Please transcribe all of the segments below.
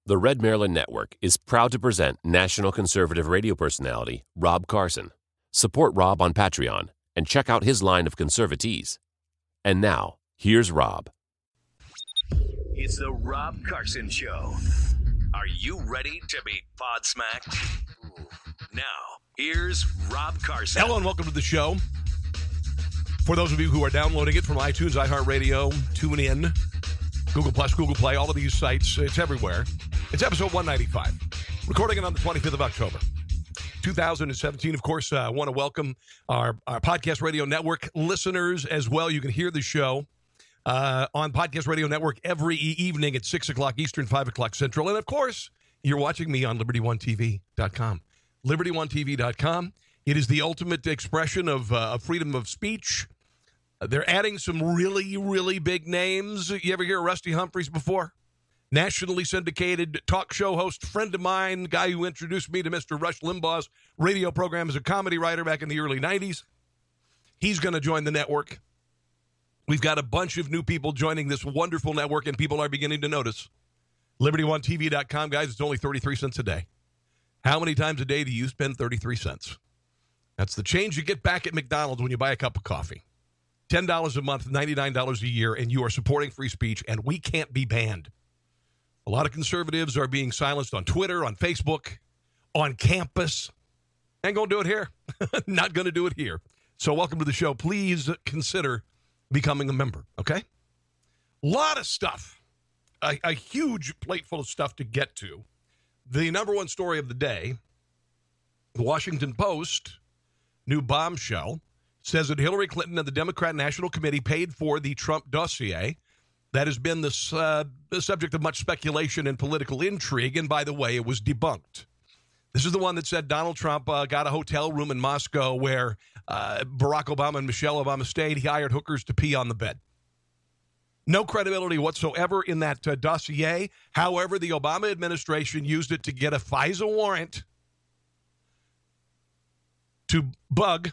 The Red Maryland Network is proud to present national conservative radio personality Rob Carson. Support Rob on Patreon and check out his line of conservatees. And now, here's Rob. It's the Rob Carson Show. Are you ready to be pod-smacked? Now, here's Rob Carson. Hello and welcome to the show. For those of you who are downloading it from iTunes, iHeartRadio, TuneIn, Google Plus, Google Play, all of these sites, it's everywhere. It's episode 195, recording it on the 25th of October, 2017. Of course, I want to welcome our Podcast Radio Network listeners as well. You can hear the show on Podcast Radio Network every evening at 6 o'clock Eastern, 5 o'clock Central. And, of course, you're watching me on LibertyOneTV.com. LibertyOneTV.com. It is the ultimate expression of freedom of speech. They're adding some really, really big names. You ever hear of Rusty Humphries before? Nationally syndicated talk show host, friend of mine, guy who introduced me to Mr. Rush Limbaugh's radio program as a comedy writer back in the early 90s. He's going to join the network. We've got a bunch of new people joining this wonderful network, and people are beginning to notice. LibertyOneTV.com, guys, it's only 33 cents a day. How many times a day do you spend 33 cents? That's the change you get back at McDonald's when you buy a cup of coffee. $10 a month, $99 a year, and you are supporting free speech, and we can't be banned. A lot of conservatives are being silenced on Twitter, on Facebook, on campus. Ain't going to do it here. Not going to do it here. So welcome to the show. Please consider becoming a member, okay? A lot of stuff. A huge plate full of stuff to get to. The number one story of the day, the Washington Post, new bombshell, says that Hillary Clinton and the Democrat National Committee paid for the Trump dossier. That has been the subject of much speculation and political intrigue, and by the way, it was debunked. This is the one that said Donald Trump got a hotel room in Moscow where Barack Obama and Michelle Obama stayed. He hired hookers to pee on the bed. No credibility whatsoever in that dossier. However, the Obama administration used it to get a FISA warrant to bug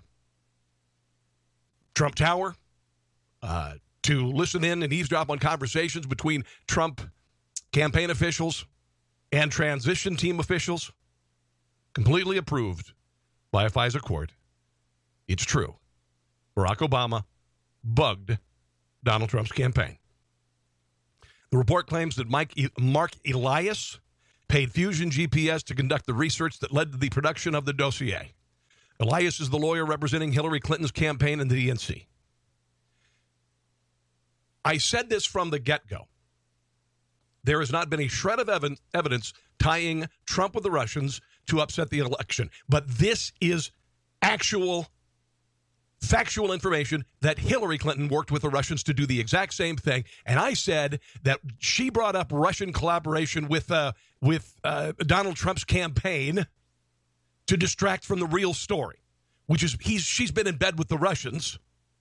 Trump Tower, to listen in and eavesdrop on conversations between Trump campaign officials and transition team officials. Completely approved by a FISA court. It's true. Barack Obama bugged Donald Trump's campaign. The report claims that Mark Elias paid Fusion GPS to conduct the research that led to the production of the dossier. Elias is the lawyer representing Hillary Clinton's campaign in the DNC. I said this from the get-go. There has not been a shred of evidence tying Trump with the Russians to upset the election. But this is actual, factual information that Hillary Clinton worked with the Russians to do the exact same thing. And I said that she brought up Russian collaboration with Donald Trump's campaign to distract from the real story, which is she's been in bed with the Russians.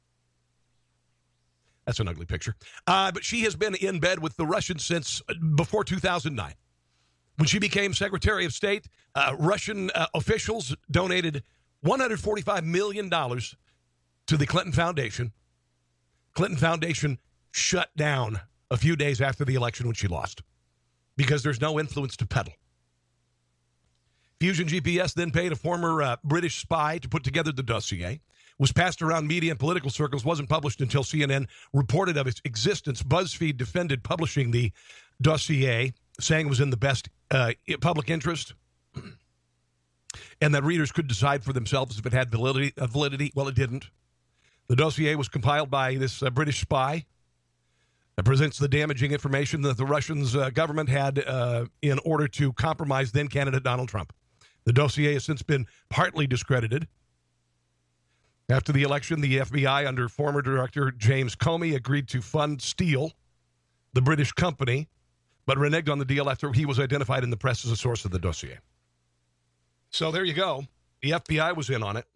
That's an ugly picture. But she has been in bed with the Russians since before 2009. When she became Secretary of State, Russian officials donated $145 million to the Clinton Foundation. Clinton Foundation shut down a few days after the election when she lost because there's no influence to peddle. Fusion GPS then paid a former British spy to put together the dossier. Was passed around media and political circles, wasn't published until CNN reported of its existence. BuzzFeed defended publishing the dossier, saying it was in the best public interest and that readers could decide for themselves if it had validity. Well, it didn't. The dossier was compiled by this British spy that presents the damaging information that the Russian government had in order to compromise then-candidate Donald Trump. The dossier has since been partly discredited. After the election, the FBI, under former Director James Comey, agreed to fund Steele, the British company, but reneged on the deal after he was identified in the press as a source of the dossier. So there you go. The FBI was in on it.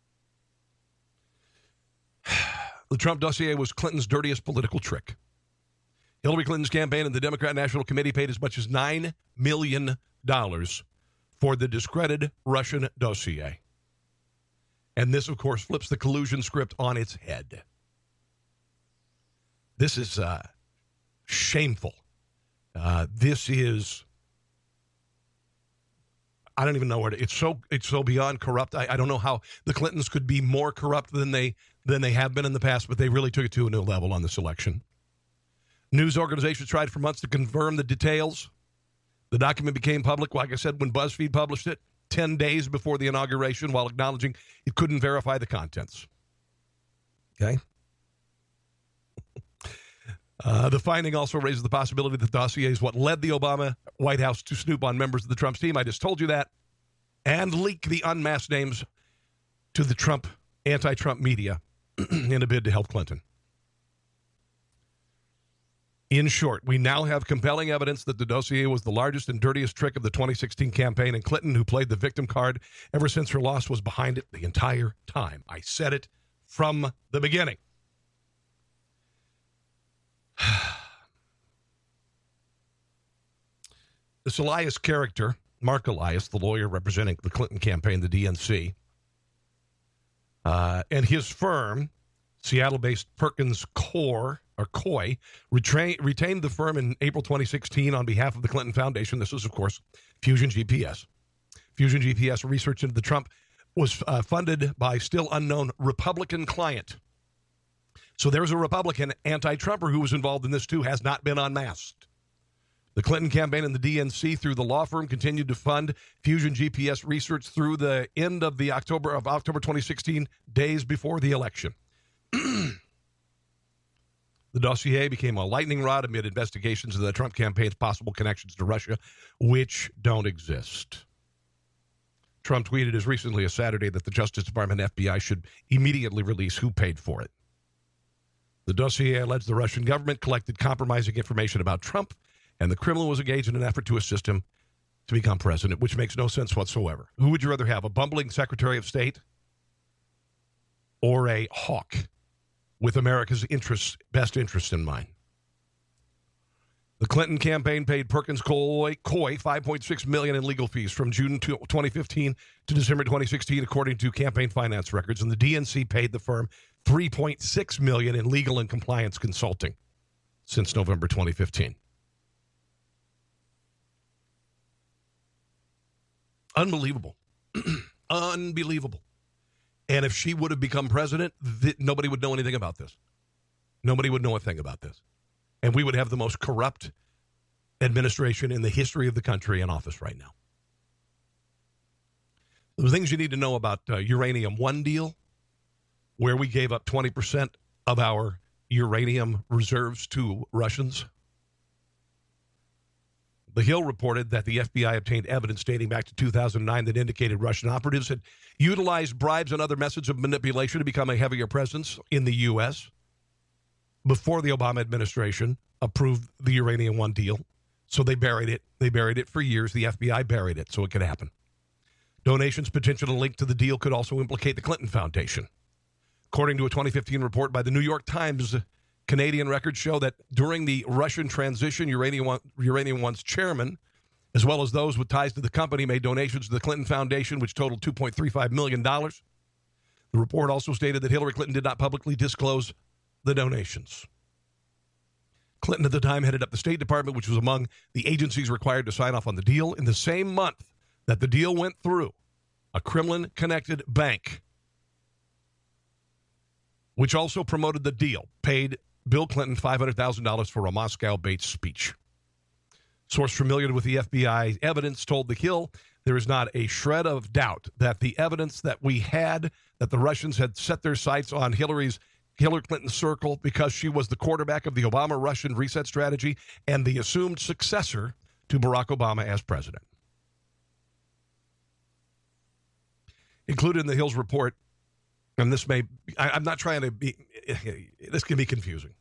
The Trump dossier was Clinton's dirtiest political trick. Hillary Clinton's campaign and the Democrat National Committee paid as much as $9 million for the discredited Russian dossier. And this, of course, flips the collusion script on its head. This is shameful. This is I don't even know where to. It's so beyond corrupt. I don't know how the Clintons could be more corrupt than they have been in the past, but they really took it to a new level on this election. News organizations tried for months to confirm the details. The document became public, like I said, when BuzzFeed published it 10 days before the inauguration, while acknowledging it couldn't verify the contents. Okay. The finding also raises the possibility that the dossier is what led the Obama White House to snoop on members of the Trump team. I just told you that. And leak the unmasked names to the anti-Trump media in a bid to help Clinton. In short, we now have compelling evidence that the dossier was the largest and dirtiest trick of the 2016 campaign, and Clinton, who played the victim card ever since her loss, was behind it the entire time. I said it from the beginning. This Elias character, Mark Elias, the lawyer representing the Clinton campaign, the DNC, and his firm, Seattle-based Perkins Coie, retained the firm in April 2016 on behalf of the Clinton Foundation. This is, of course, Fusion GPS. Fusion GPS research into the Trump was funded by still unknown Republican client. So there's a Republican anti-Trumper who was involved in this too, has not been unmasked. The Clinton campaign and the DNC through the law firm continued to fund Fusion GPS research through the end of October 2016, days before the election. The dossier became a lightning rod amid investigations of the Trump campaign's possible connections to Russia, which don't exist. Trump tweeted as recently as Saturday that the Justice Department and FBI should immediately release who paid for it. The dossier alleged the Russian government collected compromising information about Trump, and the Kremlin was engaged in an effort to assist him to become president, which makes no sense whatsoever. Who would you rather have, a bumbling Secretary of State or a hawk with America's best interests in mind? The Clinton campaign paid Perkins Coie $5.6 million in legal fees from June 2015 to December 2016, according to campaign finance records, and the DNC paid the firm $3.6 million in legal and compliance consulting since November 2015. Unbelievable. Unbelievable. And if she would have become president, nobody would know anything about this. Nobody would know a thing about this. And we would have the most corrupt administration in the history of the country in office right now. The things you need to know about Uranium One deal, where we gave up 20% of our uranium reserves to Russians. The Hill reported that the FBI obtained evidence dating back to 2009 that indicated Russian operatives had utilized bribes and other methods of manipulation to become a heavier presence in the U.S. before the Obama administration approved the Uranium One deal. So they buried it. They buried it for years. The FBI buried it so it could happen. Donations potentially linked to the deal could also implicate the Clinton Foundation. According to a 2015 report by the New York Times, Canadian records show that during the Russian transition, Uranium One's chairman, as well as those with ties to the company, made donations to the Clinton Foundation, which totaled $2.35 million. The report also stated that Hillary Clinton did not publicly disclose the donations. Clinton at the time headed up the State Department, which was among the agencies required to sign off on the deal. In the same month that the deal went through, a Kremlin-connected bank, which also promoted the deal, paid Bill Clinton $500,000 for a Moscow-based speech. Source familiar with the FBI evidence told The Hill there is not a shred of doubt that the evidence that we had, that the Russians had set their sights on Hillary Clinton's circle because she was the quarterback of the Obama-Russian reset strategy and the assumed successor to Barack Obama as president. Included in the Hill's report, and this may, I'm not trying to be, this can be confusing.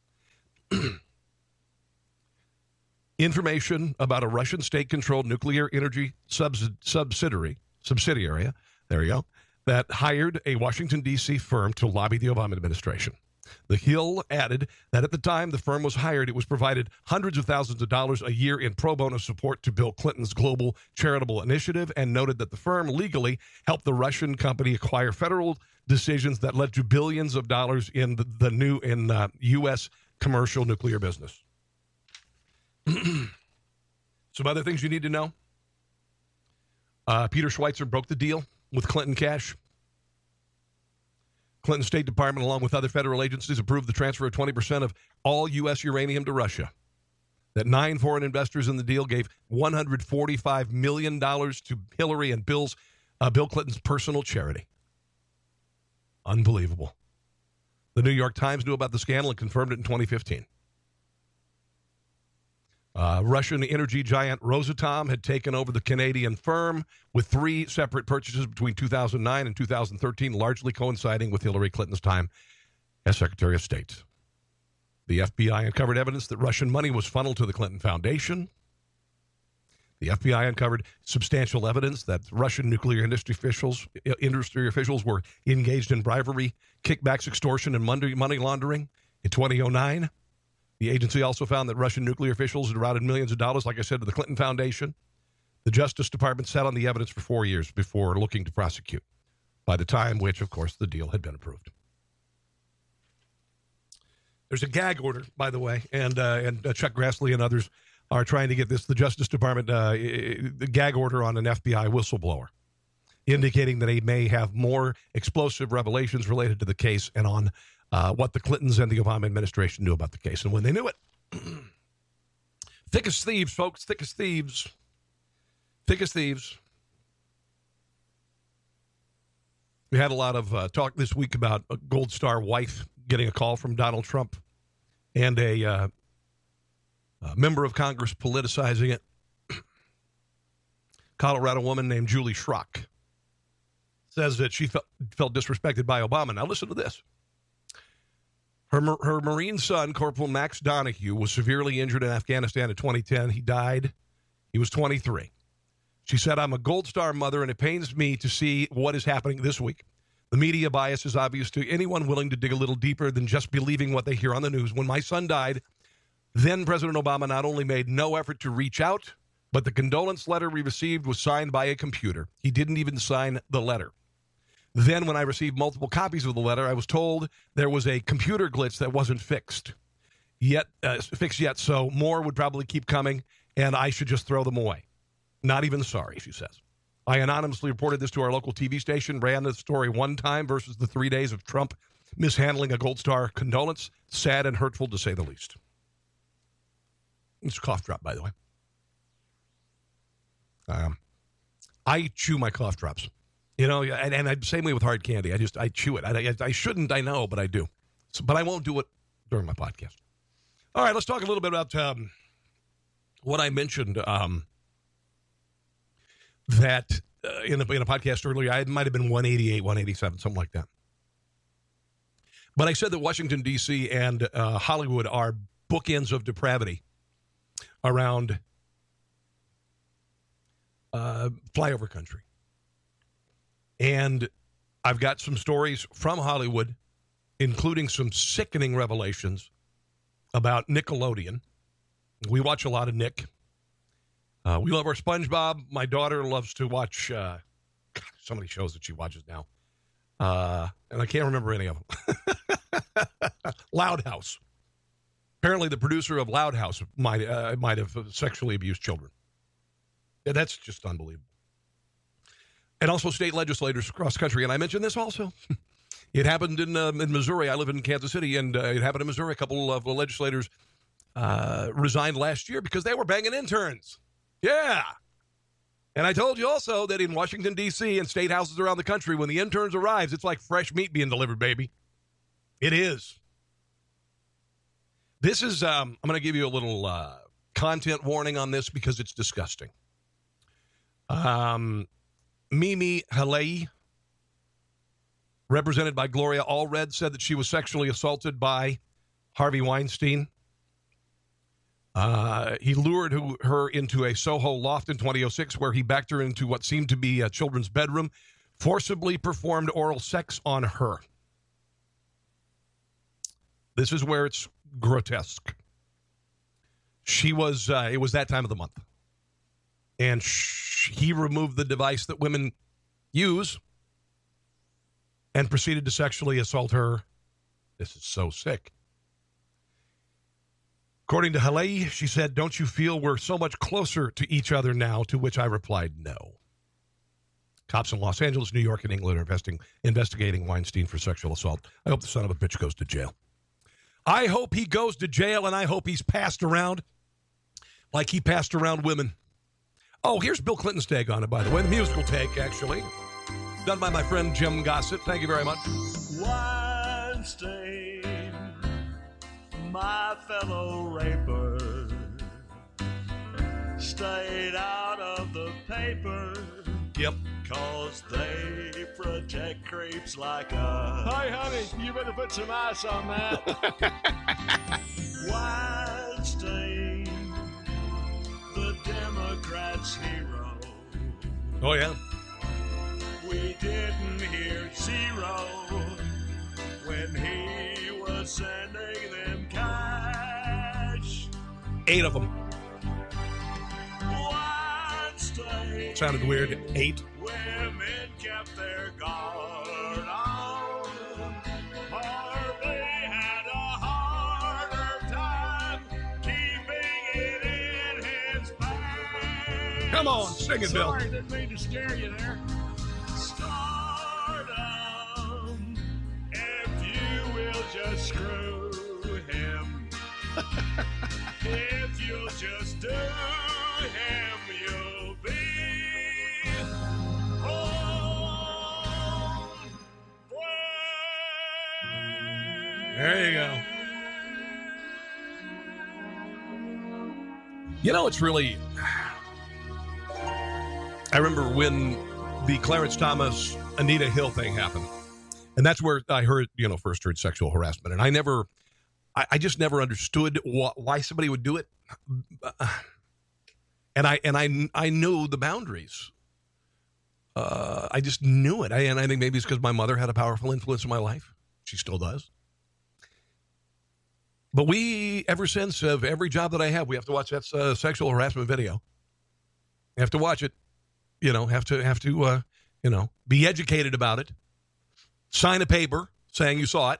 Information about a Russian state-controlled nuclear energy subsidiary, there you go, that hired a Washington, D.C. firm to lobby the Obama administration. The Hill added that at the time the firm was hired, it was provided hundreds of thousands of dollars a year in pro bono support to Bill Clinton's global charitable initiative, and noted that the firm legally helped the Russian company acquire federal decisions that led to billions of dollars in the new U.S. commercial nuclear business. Some other things you need to know. Peter Schweitzer broke the deal with Clinton cash. Clinton State Department, along with other federal agencies, approved the transfer of 20% of all U.S. uranium to Russia. That 9 foreign investors in the deal gave $145 million to Hillary and Bill Clinton's personal charity. Unbelievable. The New York Times knew about the scandal and confirmed it in 2015. Russian energy giant Rosatom had taken over the Canadian firm with 3 separate purchases between 2009 and 2013, largely coinciding with Hillary Clinton's time as Secretary of State. The FBI uncovered evidence that Russian money was funneled to the Clinton Foundation. The FBI uncovered substantial evidence that Russian nuclear industry officials were engaged in bribery, kickbacks, extortion, and money laundering in 2009. The agency also found that Russian nuclear officials had routed millions of dollars, like I said, to the Clinton Foundation. The Justice Department sat on the evidence for 4 years before looking to prosecute, by the time which, of course, the deal had been approved. There's a gag order, by the way, and Chuck Grassley and others are trying to get the Justice Department, the gag order on an FBI whistleblower, indicating that he may have more explosive revelations related to the case and on what the Clintons and the Obama administration knew about the case and when they knew it. Thick as thieves, folks, thick as thieves. Thick as thieves. We had a lot of talk this week about a Gold Star wife getting a call from Donald Trump and a member of Congress politicizing it. Colorado woman named Julie Schrock says that she felt disrespected by Obama. Now listen to this. Her Marine son, Corporal Max Donahue, was severely injured in Afghanistan in 2010. He died. He was 23. She said, I'm a Gold Star mother, and it pains me to see what is happening this week. The media bias is obvious to anyone willing to dig a little deeper than just believing what they hear on the news. When my son died, then President Obama not only made no effort to reach out, but the condolence letter we received was signed by a computer. He didn't even sign the letter. Then when I received multiple copies of the letter, I was told there was a computer glitch that wasn't fixed yet, so more would probably keep coming, and I should just throw them away. Not even sorry, she says. I anonymously reported this to our local TV station, ran the story one time versus the 3 days of Trump mishandling a Gold Star condolence. Sad and hurtful, to say the least. It's a cough drop, by the way. I chew my cough drops. You know, and same way with hard candy. I chew it. I shouldn't, I know, but I do. So, but I won't do it during my podcast. All right, let's talk a little bit about what I mentioned that in a podcast earlier. I might have been 188, 187, something like that. But I said that Washington, D.C. and Hollywood are bookends of depravity around flyover country. And I've got some stories from Hollywood, including some sickening revelations about Nickelodeon. We watch a lot of Nick. We love our SpongeBob. My daughter loves to watch so many shows that she watches now. And I can't remember any of them. Loud House. Apparently the producer of Loud House might have sexually abused children. Yeah, that's just unbelievable. And also state legislators across the country. And I mentioned this also. It happened in Missouri. I live in Kansas City, and it happened in Missouri. A couple of legislators resigned last year because they were banging interns. Yeah. And I told you also that in Washington, D.C. and state houses around the country, when the interns arrives, it's like fresh meat being delivered, baby. It is. This is, I'm going to give you a little content warning on this because it's disgusting. Mimi Halei, represented by Gloria Allred, said that she was sexually assaulted by Harvey Weinstein. He lured her into a Soho loft in 2006 where he backed her into what seemed to be a children's bedroom, forcibly performed oral sex on her. This is where it's grotesque. She was, it was that time of the month. And he removed the device that women use and proceeded to sexually assault her. This is so sick. According to Halei, she said, "Don't you feel we're so much closer to each other now?" To which I replied, "No." Cops in Los Angeles, New York, and England are investigating Weinstein for sexual assault. I hope the son of a bitch goes to jail. I hope he goes to jail, and I hope he's passed around like he passed around women. Oh, here's Bill Clinton's take on it, by the way. The musical take, actually. Done by my friend Jim Gossett. Thank you very much. Weinstein, my fellow raper, stayed out of the paper. Yep. 'Cause they protect creeps like us. Hey, honey, you better put some ice on that. Weinstein, the Democrats' hero. Oh, yeah. We didn't hear zero when he was sending them cash. 8 of them. Weinstein. Sounded weird. 8. Women kept their guard on, or they had a harder time keeping it in his pants. Come on, sing it, Bill. Sorry, didn't mean to scare you there. Stardom, if you will just screw him. If you'll just do him, you'll be home free. There you go. You know, it's really... I remember when the Clarence Thomas, Anita Hill thing happened. And that's where I first heard sexual harassment. And I just never understood why somebody would do it. And I knew the boundaries. I just knew it. And I think maybe it's because my mother had a powerful influence in my life. She still does. But ever since, of every job that I have, we have to watch that sexual harassment video. You have to watch it. Have to be educated about it. Sign a paper saying you saw it.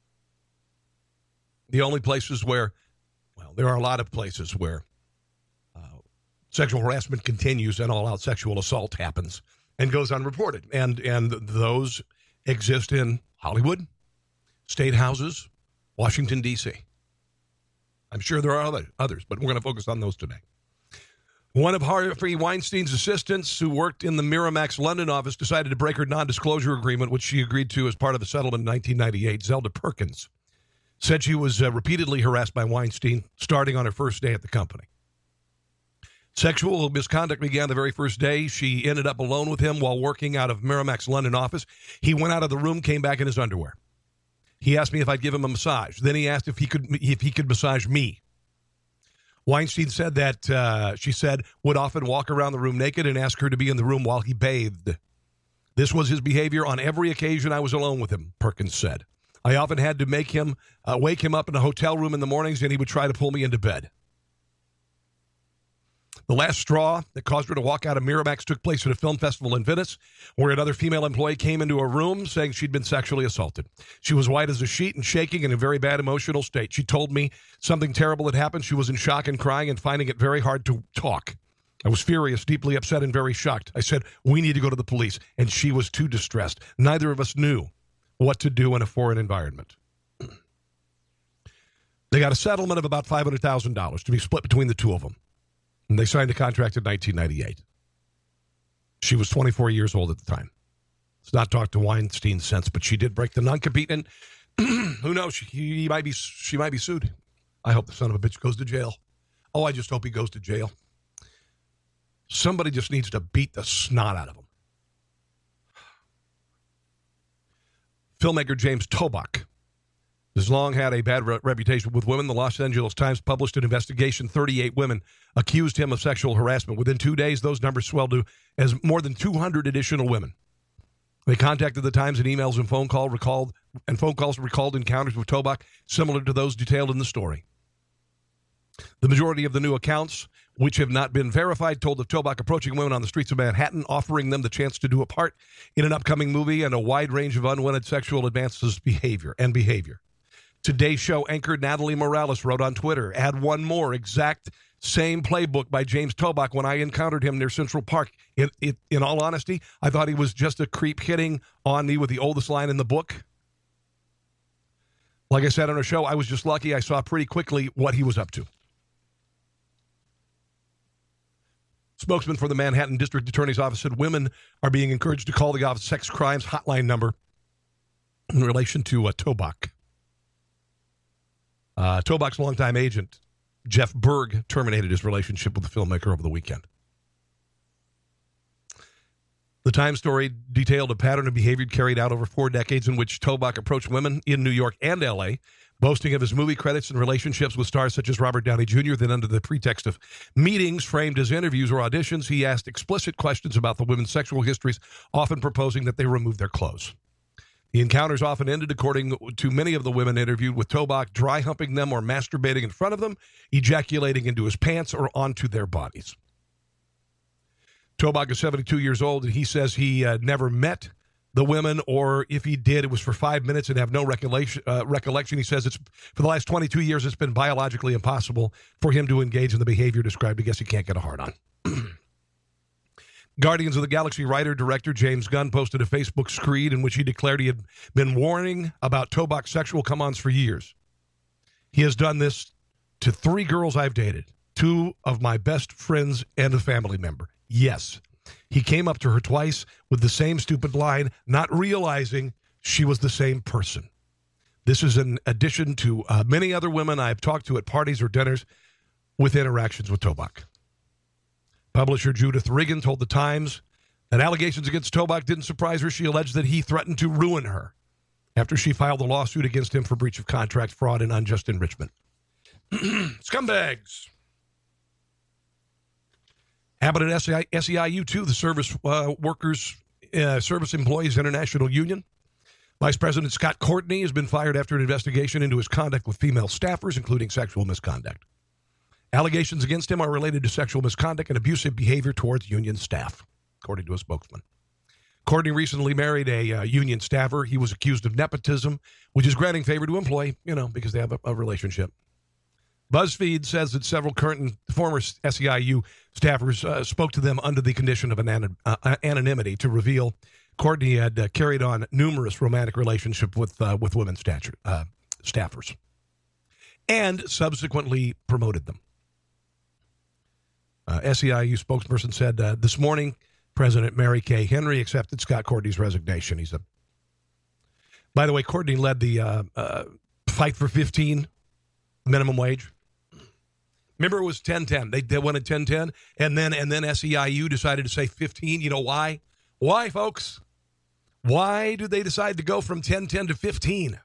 The only places where, there are a lot of places where sexual harassment continues and all-out sexual assault happens and goes unreported. And those exist in Hollywood, state houses, Washington, D.C. I'm sure there are others, but we're going to focus on those today. One of Harvey Weinstein's assistants who worked in the Miramax London office decided to break her non-disclosure agreement, which she agreed to as part of the settlement in 1998. Zelda Perkins said she was repeatedly harassed by Weinstein starting on her first day at the company. Sexual misconduct began the very first day. She ended up alone with him while working out of Miramax London office. He went out of the room, came back in his underwear. He asked me if I'd give him a massage. Then he asked if he could massage me. Weinstein said that, she said, would often walk around the room naked and ask her to be in the room while he bathed. This was his behavior on every occasion I was alone with him, Perkins said. I often had to wake him up in a hotel room in the mornings, and he would try to pull me into bed. The last straw that caused her to walk out of Miramax took place at a film festival in Venice, where another female employee came into a room saying she'd been sexually assaulted. She was white as a sheet and shaking in a very bad emotional state. She told me something terrible had happened. She was in shock and crying and finding it very hard to talk. I was furious, deeply upset, and very shocked. I said, we need to go to the police, and she was too distressed. Neither of us knew what to do in a foreign environment. They got a settlement of about $500,000 to be split between the two of them. And they signed a contract in 1998. She was 24 years old at the time. It's not talked to Weinstein since, but she did break the non-compete, and who knows? She might be sued. I hope the son of a bitch goes to jail. Oh, I just hope he goes to jail. Somebody just needs to beat the snot out of him. Filmmaker James Toback has long had a bad reputation with women. The Los Angeles Times published an investigation. 38 women accused him of sexual harassment. Within 2 days, those numbers swelled to as more than 200 additional women. They contacted the Times in emails and phone calls recalled encounters with Toback similar to those detailed in the story. The majority of the new accounts, which have not been verified, told of Toback approaching women on the streets of Manhattan, offering them the chance to do a part in an upcoming movie and a wide range of unwanted sexual advances behavior. Today's Show anchor Natalie Morales wrote on Twitter, add one more exact same playbook by James Toback when I encountered him near Central Park. In all honesty, I thought he was just a creep hitting on me with the oldest line in the book. Like I said on our show, I was just lucky I saw pretty quickly what he was up to. Spokesman for the Manhattan District Attorney's Office said women are being encouraged to call the office sex crimes hotline number in relation to Toback. Toback's longtime agent, Jeff Berg, terminated his relationship with the filmmaker over the weekend. The Times story detailed a pattern of behavior carried out over 4 decades in which Toback approached women in New York and L.A., boasting of his movie credits and relationships with stars such as Robert Downey Jr., then under the pretext of meetings framed as interviews or auditions, he asked explicit questions about the women's sexual histories, often proposing that they remove their clothes. The encounters often ended, according to many of the women interviewed, with Toback dry humping them or masturbating in front of them, ejaculating into his pants or onto their bodies. Toback is 72 years old, and he says he never met the women, or if he did, it was for 5 minutes and have no recollection. He says it's for the last 22 years, it's been biologically impossible for him to engage in the behavior described. I guess he can't get a hard on. Guardians of the Galaxy writer-director James Gunn posted a Facebook screed in which he declared he had been warning about Toback's sexual come-ons for years. He has done this to 3 girls I've dated, 2 of my best friends and a family member. Yes, he came up to her twice with the same stupid line, not realizing she was the same person. This is in addition to many other women I've talked to at parties or dinners with interactions with Toback. Publisher Judith Riggin told The Times that allegations against Toback didn't surprise her. She alleged that he threatened to ruin her after she filed a lawsuit against him for breach of contract, fraud, and unjust enrichment. Scumbags. Happened at SEIU, too, the Service Employees International Union. Vice President Scott Courtney has been fired after an investigation into his conduct with female staffers, including sexual misconduct. Allegations against him are related to sexual misconduct and abusive behavior towards union staff, according to a spokesman. Courtney recently married a union staffer. He was accused of nepotism, which is granting favor to employee, because they have a relationship. BuzzFeed says that several current and former SEIU staffers spoke to them under the condition of anonymity to reveal Courtney had carried on numerous romantic relationships with women staffers and subsequently promoted them. SEIU spokesperson said this morning, President Mary Kay Henry accepted Scott Courtney's resignation. By the way, Courtney led the Fight for 15 minimum wage. Remember, it was 10-10. They wanted 10-10, and then SEIU decided to say 15. You know why? Why, folks? Why do they decide to go from 10-10 to 15?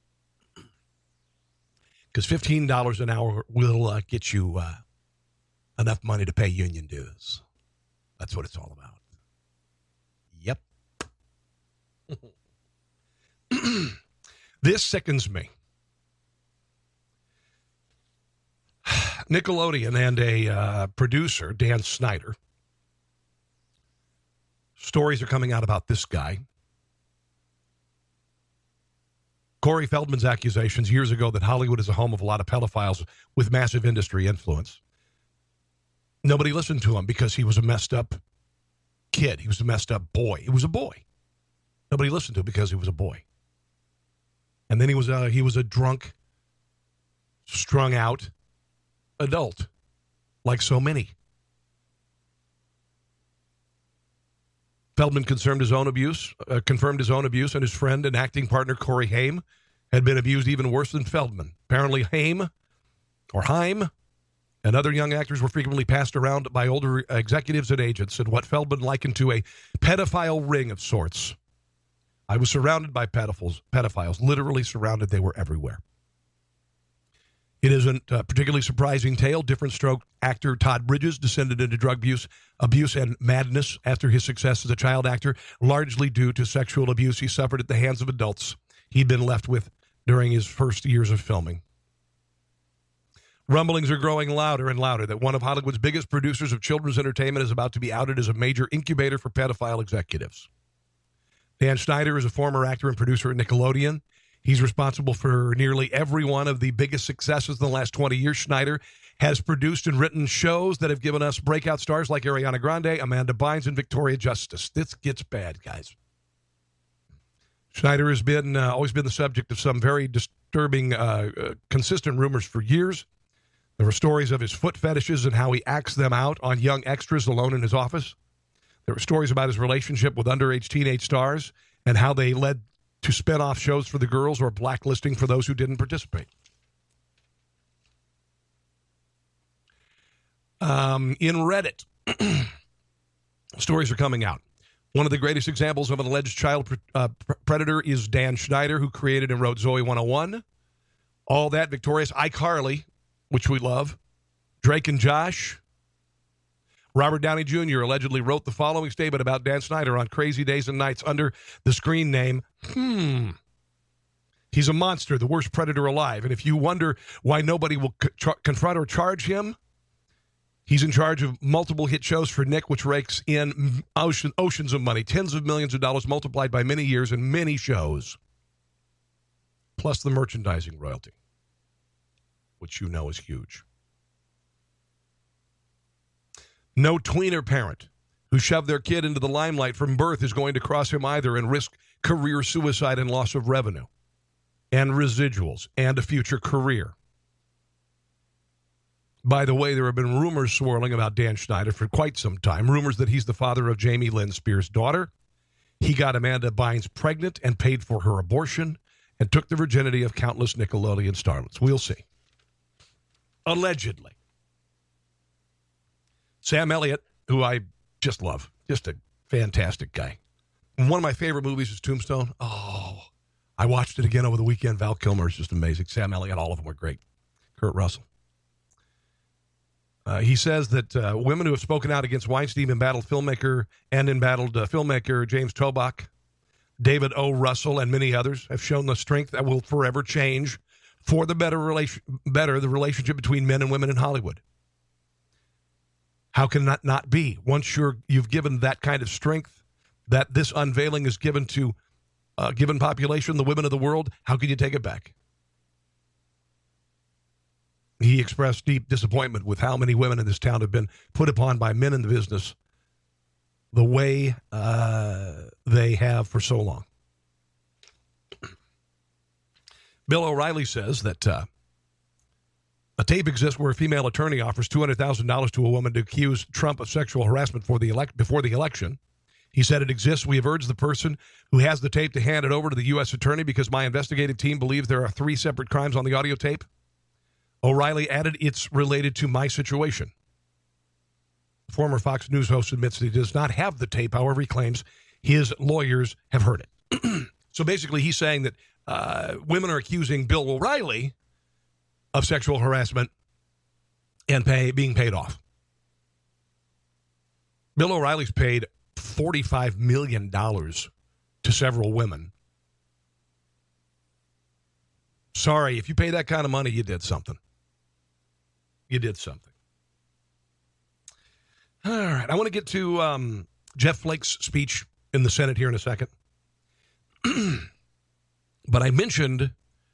Because $15 an hour will get you enough money to pay union dues. That's what it's all about. Yep. This sickens me. Nickelodeon and a producer, Dan Snyder. Stories are coming out about this guy. Corey Feldman's accusations years ago that Hollywood is a home of a lot of pedophiles with massive industry influence. Nobody listened to him because he was a messed up kid. He was a messed up boy. He was a boy. Nobody listened to him because he was a boy. And then he was a drunk, strung out adult, like so many. Feldman confirmed his own abuse, and his friend and acting partner Corey Haim had been abused even worse than Feldman. Apparently Haim and other young actors were frequently passed around by older executives and agents in what Feldman likened to a pedophile ring of sorts. I was surrounded by pedophiles, literally surrounded. They were everywhere. It isn't a particularly surprising tale. Different stroke actor Todd Bridges descended into drug abuse and madness after his success as a child actor, largely due to sexual abuse he suffered at the hands of adults he'd been left with during his first years of filming. Rumblings are growing louder and louder that one of Hollywood's biggest producers of children's entertainment is about to be outed as a major incubator for pedophile executives. Dan Snyder is a former actor and producer at Nickelodeon. He's responsible for nearly every one of the biggest successes in the last 20 years. Schneider has produced and written shows that have given us breakout stars like Ariana Grande, Amanda Bynes, and Victoria Justice. This gets bad, guys. Schneider has been always been the subject of some very disturbing, consistent rumors for years. There were stories of his foot fetishes and how he acts them out on young extras alone in his office. There were stories about his relationship with underage teenage stars and how they led to spin-off shows for the girls or blacklisting for those who didn't participate. In Reddit, stories are coming out. One of the greatest examples of an alleged child predator is Dan Schneider, who created and wrote Zoe 101. All that, Victorious, iCarly, which we love, Drake and Josh. Robert Downey Jr. allegedly wrote the following statement about Dan Schneider on Crazy Days and Nights under the screen name, He's a monster, the worst predator alive. And if you wonder why nobody will confront or charge him, he's in charge of multiple hit shows for Nick, which rakes in oceans of money, tens of millions of dollars multiplied by many years and many shows, plus the merchandising royalty, which you know is huge. No tweener parent who shoved their kid into the limelight from birth is going to cross him either and risk career suicide and loss of revenue and residuals and a future career. By the way, there have been rumors swirling about Dan Schneider for quite some time. Rumors that he's the father of Jamie Lynn Spears' daughter. He got Amanda Bynes pregnant and paid for her abortion and took the virginity of countless Nickelodeon starlets. We'll see. Allegedly. Sam Elliott, who I just love. Just a fantastic guy. And one of my favorite movies is Tombstone. Oh, I watched it again over the weekend. Val Kilmer is just amazing. Sam Elliott, all of them were great. Kurt Russell. He says that women who have spoken out against Weinstein embattled filmmaker James Toback, David O. Russell, and many others have shown the strength that will forever change for the better the relationship between men and women in Hollywood. How can that not be? Once you've given that kind of strength that this unveiling is given to a given population, the women of the world, how can you take it back? He expressed deep disappointment with how many women in this town have been put upon by men in the business the way they have for so long. Bill O'Reilly says that a tape exists where a female attorney offers $200,000 to a woman to accuse Trump of sexual harassment before the election. He said it exists. We have urged the person who has the tape to hand it over to the U.S. attorney because my investigative team believes there are 3 separate crimes on the audio tape. O'Reilly added, it's related to my situation. The former Fox News host admits that he does not have the tape. However, he claims his lawyers have heard it. So basically, he's saying that women are accusing Bill O'Reilly of sexual harassment and being paid off. Bill O'Reilly's paid $45 million to several women. Sorry, if you pay that kind of money, you did something. You did something. All right, I want to get to Jeff Flake's speech in the Senate here in a second. But I mentioned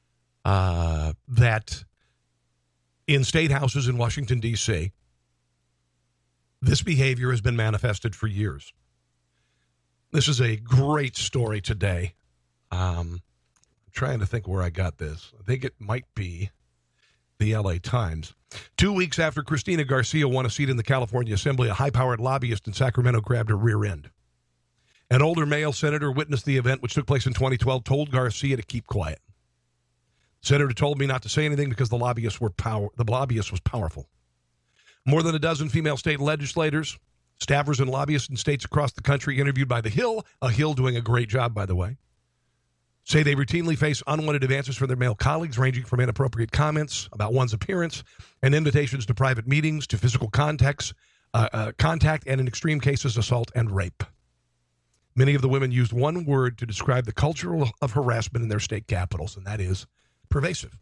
that in state houses in Washington, D.C., this behavior has been manifested for years. This is a great story today. I'm trying to think where I got this. I think it might be the L.A. Times. 2 weeks after Christina Garcia won a seat in the California Assembly, a high-powered lobbyist in Sacramento grabbed her rear end. An older male senator witnessed the event, which took place in 2012, told Garcia to keep quiet. The senator told me not to say anything because the lobbyist was powerful. More than a dozen female state legislators, staffers, and lobbyists in states across the country interviewed by The Hill, a Hill doing a great job, by the way, say they routinely face unwanted advances from their male colleagues, ranging from inappropriate comments about one's appearance and invitations to private meetings to physical contact, and in extreme cases, assault and rape. Many of the women used one word to describe the culture of harassment in their state capitals, and that is pervasive.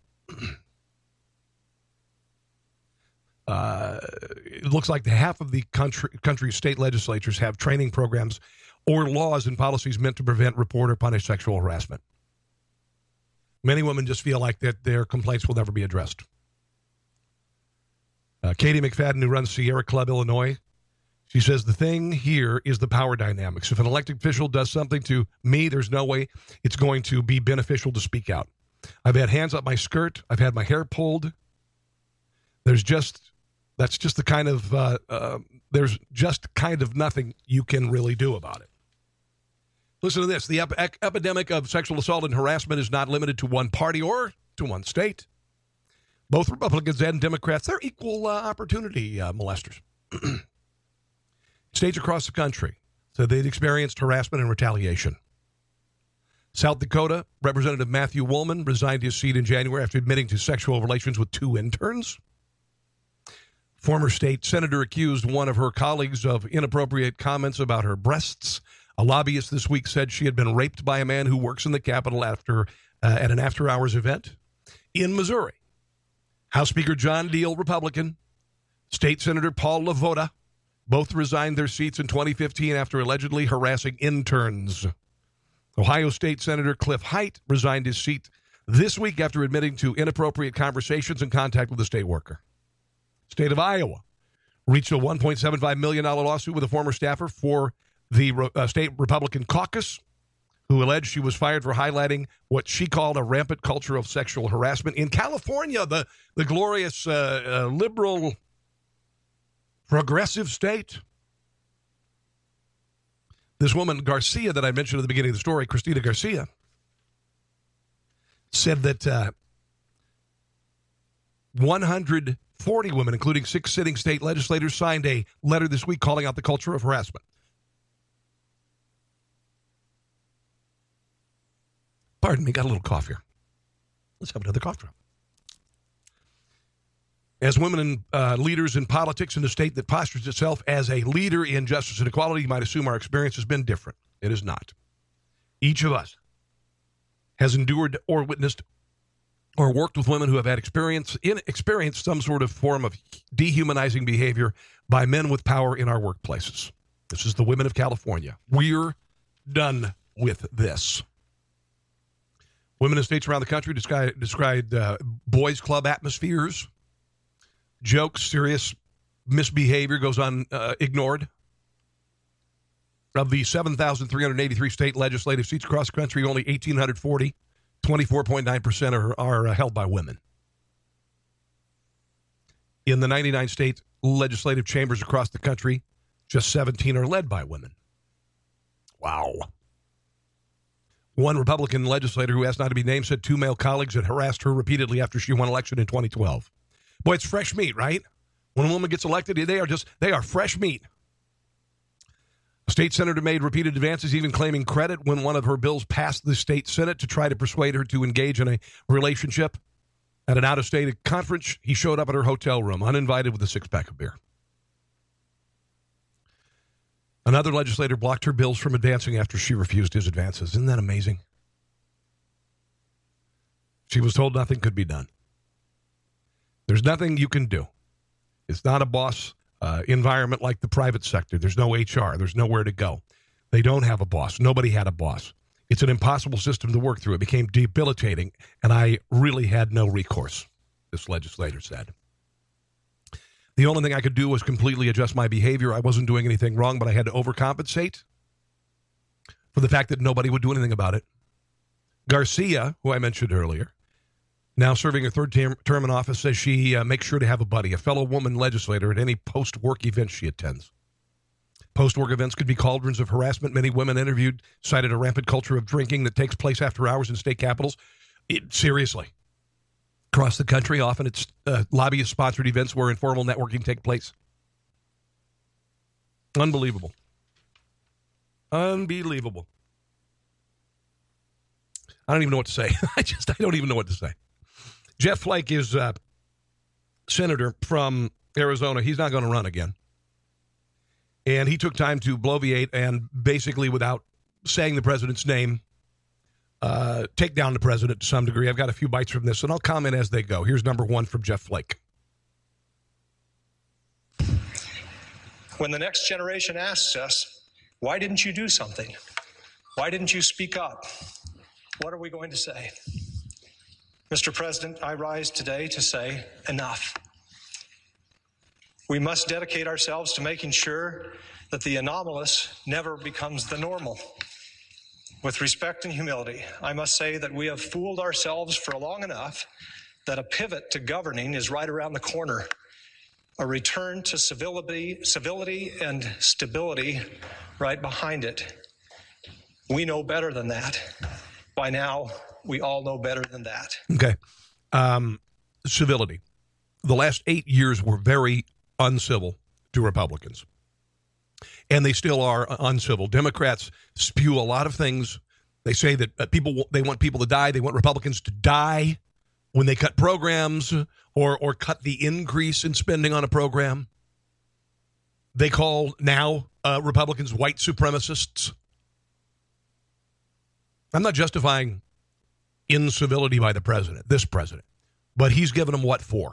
It looks like half of the country's state legislatures have training programs or laws and policies meant to prevent, report, or punish sexual harassment. Many women just feel like that their complaints will never be addressed. Katie McFadden, who runs Sierra Club, Illinois, she says, the thing here is the power dynamics. If an elected official does something to me, there's no way it's going to be beneficial to speak out. I've had hands up my skirt. I've had my hair pulled. That's just the kind of, there's just kind of nothing you can really do about it. Listen to this. The epidemic of sexual assault and harassment is not limited to one party or to one state. Both Republicans and Democrats, they're equal opportunity molesters. States across the country said they'd experienced harassment and retaliation. South Dakota, Representative Matthew Woolman resigned his seat in January after admitting to sexual relations with 2 interns. Former state senator accused one of her colleagues of inappropriate comments about her breasts. A lobbyist this week said she had been raped by a man who works in the Capitol at an after-hours event. In Missouri, House Speaker John Deal, Republican, State Senator Paul LaVota, both resigned their seats in 2015 after allegedly harassing interns. Ohio State Senator Cliff Height resigned his seat this week after admitting to inappropriate conversations and contact with a state worker. State of Iowa reached a $1.75 million lawsuit with a former staffer for the state Republican caucus who alleged she was fired for highlighting what she called a rampant culture of sexual harassment. In California, the glorious liberal progressive state, this woman, Garcia, that I mentioned at the beginning of the story, Christina Garcia, said that 140 women, including 6 sitting state legislators, signed a letter this week calling out the culture of harassment. Pardon me, got a little cough here. Let's have another cough drop. As women and leaders in politics in a state that postures itself as a leader in justice and equality, you might assume our experience has been different. It is not. Each of us has endured or witnessed or worked with women who have had experienced some sort of form of dehumanizing behavior by men with power in our workplaces. This is the women of California. We're done with this. Women in states around the country described boys' club atmospheres. Jokes, serious misbehavior goes ignored. Of the 7,383 state legislative seats across the country, only 1,840, 24.9% are held by women. In the 99 state legislative chambers across the country, just 17 are led by women. Wow. One Republican legislator who asked not to be named said 2 male colleagues had harassed her repeatedly after she won election in 2012. Boy, it's fresh meat, right? When a woman gets elected, they are fresh meat. A state senator made repeated advances, even claiming credit when one of her bills passed the state Senate to try to persuade her to engage in a relationship. At an out-of-state conference, he showed up at her hotel room, uninvited, with a 6-pack of beer. Another legislator blocked her bills from advancing after she refused his advances. Isn't that amazing? She was told nothing could be done. There's nothing you can do. It's not a boss environment like the private sector. There's no HR. There's nowhere to go. They don't have a boss. Nobody had a boss. It's an impossible system to work through. It became debilitating, and I really had no recourse, this legislator said. The only thing I could do was completely adjust my behavior. I wasn't doing anything wrong, but I had to overcompensate for the fact that nobody would do anything about it. Garcia, who I mentioned earlier, now serving her 3rd term in office, says she makes sure to have a buddy, a fellow woman legislator, at any post-work event she attends. Post-work events could be cauldrons of harassment. Many women interviewed cited a rampant culture of drinking that takes place after hours in state capitals. Seriously. Across the country, often it's lobbyist-sponsored events where informal networking takes place. Unbelievable. Unbelievable. I don't even know what to say. I don't even know what to say. Jeff Flake is senator from Arizona. He's not going to run again. And he took time to bloviate and basically, without saying the president's name, take down the president to some degree. I've got a few bites from this, and I'll comment as they go. Here's number 1 from Jeff Flake. When the next generation asks us, why didn't you do something? Why didn't you speak up? What are we going to say? Mr. President, I rise today to say enough. We must dedicate ourselves to making sure that the anomalous never becomes the normal. With respect and humility, I must say that we have fooled ourselves for long enough that a pivot to governing is right around the corner. A return to civility and stability right behind it. We know better than that. By now, we all know better than that. Okay. Civility. The last 8 years were very uncivil to Republicans. And they still are uncivil. Democrats spew a lot of things. They say that they want people to die. They want Republicans to die when they cut programs or cut the increase in spending on a program. They call now Republicans white supremacists. I'm not justifying incivility by the president, this president, but he's given them what for?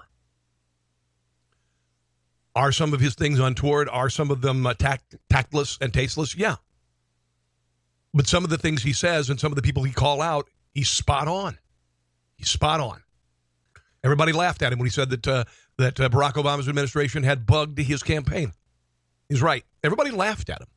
Are some of his things untoward? Are some of them tactless and tasteless? Yeah. But some of the things he says and some of the people he call out, he's spot on. He's spot on. Everybody laughed at him when he said that Barack Obama's administration had bugged his campaign. He's right. Everybody laughed at him.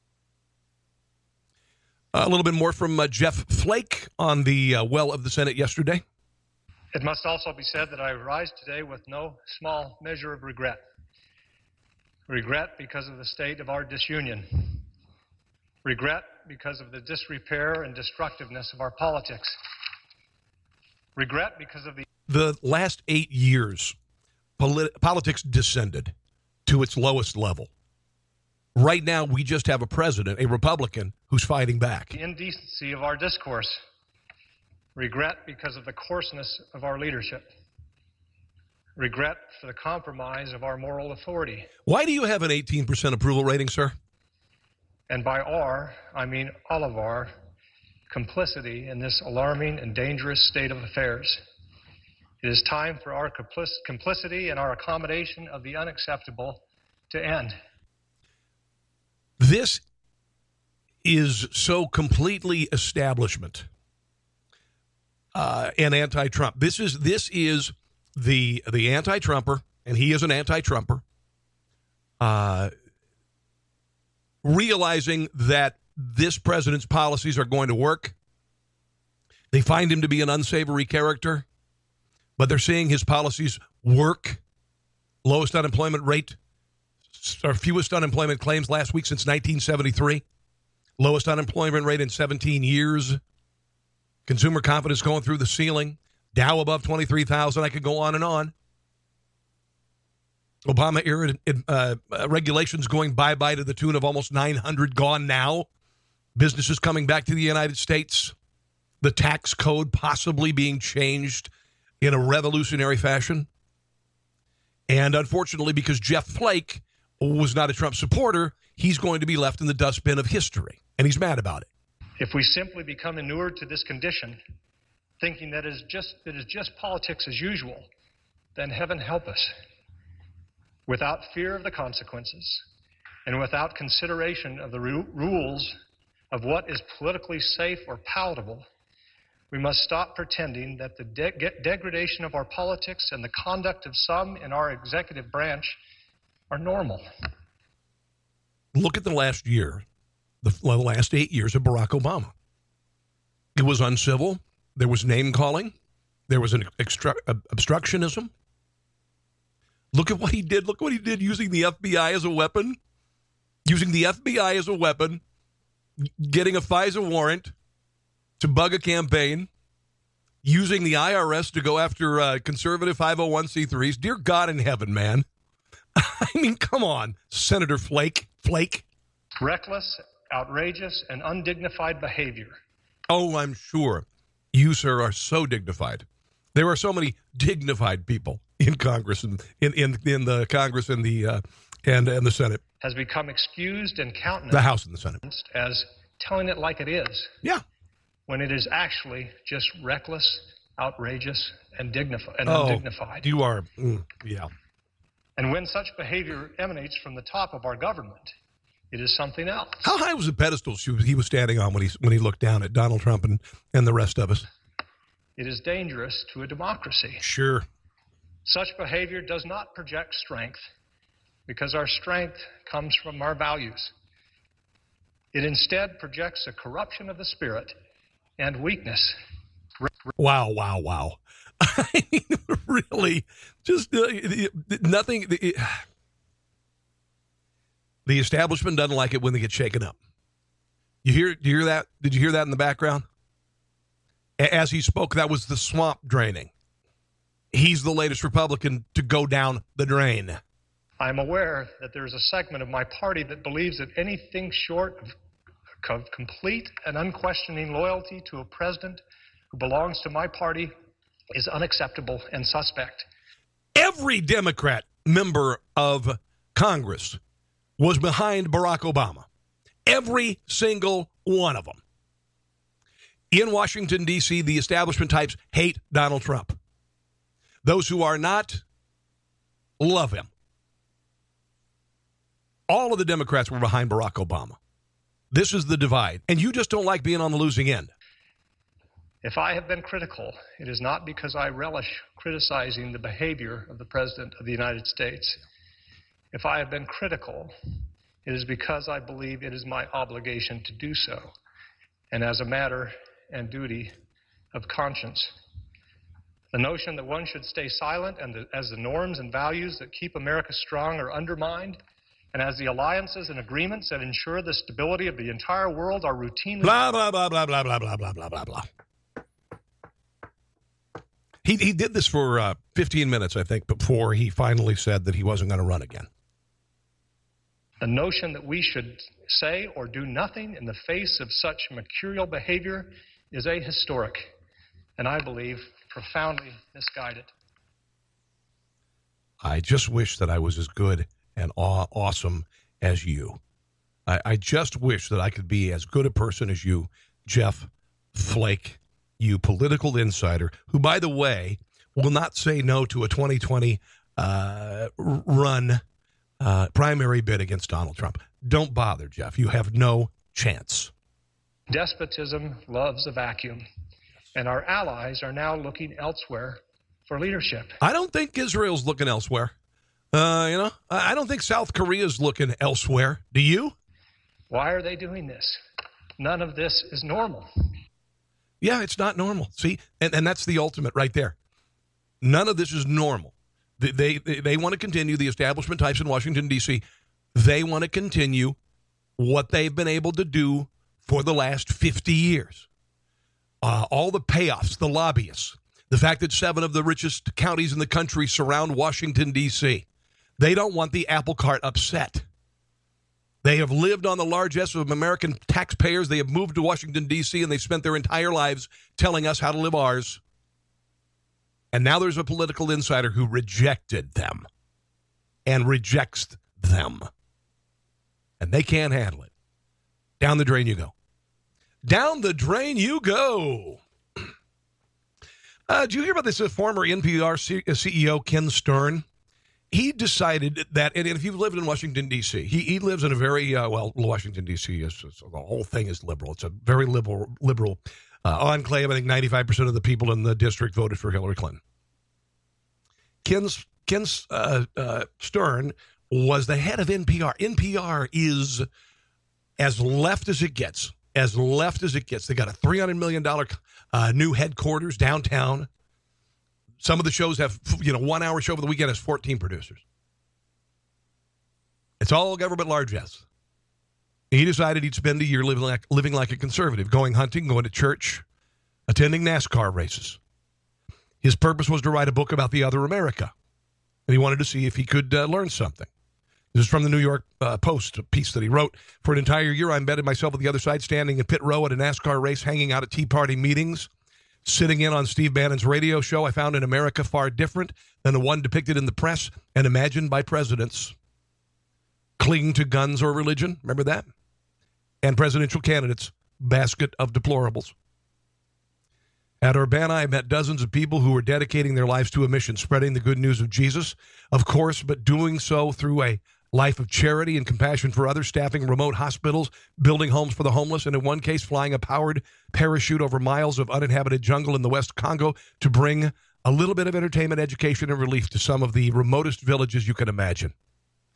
A little bit more from Jeff Flake on the well of the Senate yesterday. It must also be said that I rise today with no small measure of regret. Regret because of the state of our disunion. Regret because of the disrepair and destructiveness of our politics. Regret because of the last 8 years, politics descended to its lowest level. Right now, we just have a president, a Republican, who's fighting back. The indecency of our discourse. Regret because of the coarseness of our leadership. Regret for the compromise of our moral authority. Why do you have an 18% approval rating, sir? And by our, I mean all of our complicity in this alarming and dangerous state of affairs. It is time for our complicity and our accommodation of the unacceptable to end. This is so completely establishment and anti-Trump. This is the anti-Trumper, and he is an anti-Trumper, realizing that this president's policies are going to work. They find him to be an unsavory character, but they're seeing his policies work. Lowest unemployment rate, or fewest unemployment claims last week since 1973. Lowest unemployment rate in 17 years. Consumer confidence going through the ceiling. Dow above 23,000. I could go on and on. Obama-era regulations going bye-bye to the tune of almost 900 gone now. Businesses coming back to the United States. The tax code possibly being changed in a revolutionary fashion. And unfortunately, because Jeff Flake was not a Trump supporter, he's going to be left in the dustbin of history. And he's mad about it. If we simply become inured to this condition, thinking that it is just politics as usual, then heaven help us. Without fear of the consequences and without consideration of the rules of what is politically safe or palatable, we must stop pretending that the degradation of our politics and the conduct of some in our executive branch are normal. Look at the last year, the last 8 years of Barack Obama. It was uncivil. There was name-calling. There was an obstructionism. Look at what he did. Look what he did using the FBI as a weapon. Using the FBI as a weapon. Getting a FISA warrant to bug a campaign. Using the IRS to go after conservative 501c3s. Dear God in heaven, man. I mean, come on, Senator Flake. Reckless, outrageous, and undignified behavior. Oh, I'm sure. You, sir, are so dignified. There are so many dignified people in Congress and in the Congress and the Senate. Has become excused and countenanced. The House and the Senate. As telling it like it is. Yeah. When it is actually just reckless, outrageous, and undignified. You are, yeah. And when such behavior emanates from the top of our government, it is something else. How high was the pedestal he was standing on when he looked down at Donald Trump and the rest of us? It is dangerous to a democracy. Sure. Such behavior does not project strength. because our strength comes from our values. It instead projects a corruption of the spirit and weakness. Wow. I mean, really, just nothing. The establishment doesn't like it when they get shaken up. Do you hear that? Did you hear that in the background? As he spoke, that was the swamp draining. He's the latest Republican to go down the drain. I'm aware that there is a segment of my party that believes that anything short of complete and unquestioning loyalty to a president who belongs to my party is unacceptable and suspect. Every Democrat member of Congress was behind Barack Obama. Every single one of them. In Washington, D.C., the establishment types hate Donald Trump. Those who are not love him. All of the Democrats were behind Barack Obama. This is the divide. And you just don't like being on the losing end. If I have been critical, it is not because I relish criticizing the behavior of the President of the United States. If I have been critical, it is because I believe it is my obligation to do so, and as a matter and duty of conscience. The notion that one should stay silent and as the norms and values that keep America strong are undermined, and as the alliances and agreements that ensure the stability of the entire world are routinely... Blah, blah, blah, blah, blah, blah, blah, blah, blah, blah, blah. He did this for 15 minutes, I think, before he finally said that he wasn't going to run again. The notion that we should say or do nothing in the face of such mercurial behavior is ahistoric, and I believe profoundly misguided. I just wish that I was as good and awesome as you. I just wish that I could be as good a person as you, Jeff Flake, you political insider, who, by the way, will not say no to a 2020 run primary bid against Donald Trump. Don't bother, Jeff. You have no chance. Despotism loves a vacuum, and our allies are now looking elsewhere for leadership. I don't think Israel's looking elsewhere. I don't think South Korea's looking elsewhere. Do you? Why are they doing this? None of this is normal. Yeah, it's not normal. See, and that's the ultimate right there. None of this is normal. They want to continue, the establishment types in Washington, D.C., they want to continue what they've been able to do for the last 50 years. All the payoffs, the lobbyists, the fact that 7 of the richest counties in the country surround Washington, D.C. They don't want the apple cart upset. They have lived on the largesse of American taxpayers. They have moved to Washington, D.C., and they've spent their entire lives telling us how to live ours. And now there's a political insider who rejected them and rejects them. And they can't handle it. Down the drain you go. Down the drain you go. Did you hear about this former NPR CEO, Ken Stern? He decided that, and if you've lived in Washington, D.C., he lives in a very, Washington, D.C., the whole thing is liberal. It's a very liberal enclave. I think 95% of the people in the district voted for Hillary Clinton. Ken Stern was the head of NPR. NPR is as left as it gets. As left as it gets. They got a $300 million new headquarters downtown. Some of the shows have, 1 hour show over the weekend has 14 producers. It's all government largesse. He decided he'd spend a year living like a conservative, going hunting, going to church, attending NASCAR races. His purpose was to write a book about the other America, and he wanted to see if he could learn something. This is from the New York Post, a piece that he wrote. For an entire year, I embedded myself at the other side, standing in pit row at a NASCAR race, hanging out at Tea Party meetings, sitting in on Steve Bannon's radio show. I found an America far different than the one depicted in the press and imagined by presidents. Cling to guns or religion, remember that? And presidential candidates, basket of deplorables. At Urbana, I met dozens of people who were dedicating their lives to a mission, spreading the good news of Jesus, of course, but doing so through a life of charity and compassion for others, staffing remote hospitals, building homes for the homeless, and in one case, flying a powered parachute over miles of uninhabited jungle in the West Congo to bring a little bit of entertainment, education, and relief to some of the remotest villages you can imagine.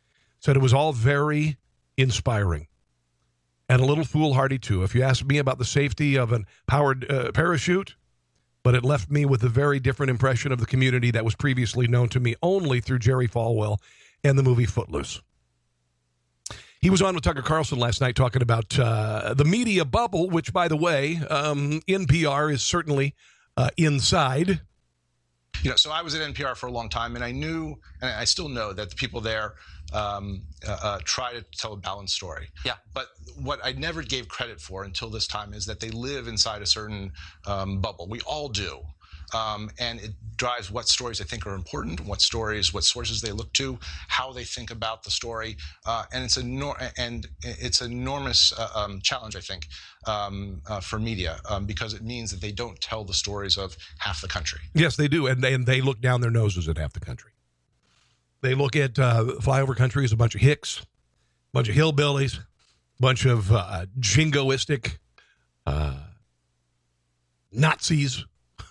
said it was all very inspiring and a little foolhardy, too. If you ask me about the safety of a powered parachute, but it left me with a very different impression of the community that was previously known to me only through Jerry Falwell and the movie Footloose. He was on with Tucker Carlson last night talking about the media bubble, which, by the way, NPR is certainly inside. So I was at NPR for a long time, and I knew, and I still know, that the people there try to tell a balanced story. Yeah. But what I never gave credit for until this time is that they live inside a certain bubble. We all do. And it drives what stories I think are important, what sources they look to, how they think about the story, and it's an enormous challenge, I think, for media, because it means that they don't tell the stories of half the country. Yes, they do, and they look down their noses at half the country. They look at flyover country as a bunch of hicks, a bunch of hillbillies, a bunch of jingoistic Nazis.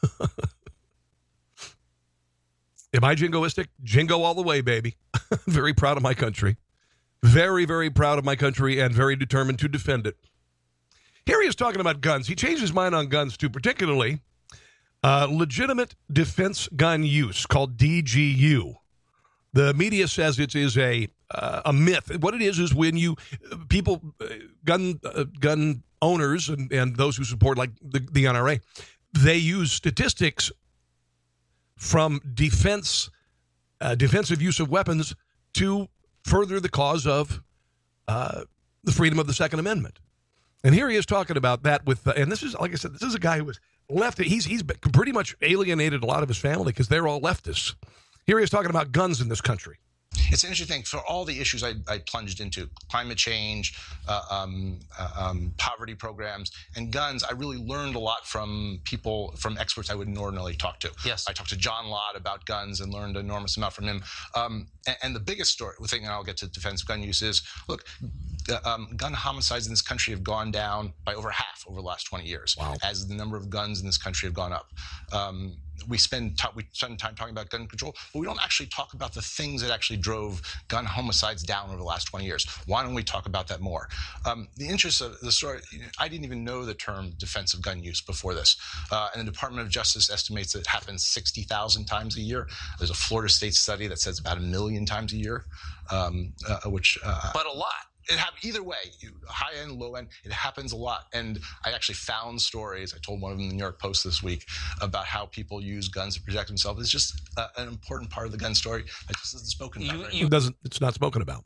Am I jingoistic? Jingo all the way, baby. Very proud of my country. Very, very proud of my country and very determined to defend it. Here he is talking about guns. He changed his mind on guns, too, particularly legitimate defense gun use, called DGU. The media says it is a myth. What it is when you people, gun owners and those who support, like the NRA, they use statistics from defensive use of weapons to further the cause of the freedom of the Second Amendment. And here he is talking about that with, and this is, like I said, this is a guy who was left. He's pretty much alienated a lot of his family because they're all leftists. Here he is talking about guns in this country. It's an interesting thing. For all the issues I plunged into, climate change, poverty programs, and guns, I really learned a lot from experts I wouldn't ordinarily talk to. Yes. I talked to John Lott about guns and learned an enormous amount from him. And the biggest thing, and I'll get to defensive gun use, is, look, gun homicides in this country have gone down by over half over the last 20 years. Wow. As the number of guns in this country have gone up. We spend time talking about gun control, but we don't actually talk about the things that actually drove gun homicides down over the last 20 years. Why don't we talk about that more? The interest of the story, I didn't even know the term defensive gun use before this. And the Department of Justice estimates that it happens 60,000 times a year. There's a Florida State study that says about 1 million times a year, but a lot. It happens either way, high end, low end. It happens a lot, and I actually found stories. I told one of them in the New York Post this week about how people use guns to protect themselves. It's just an important part of the gun story that just isn't spoken about. It's not spoken about.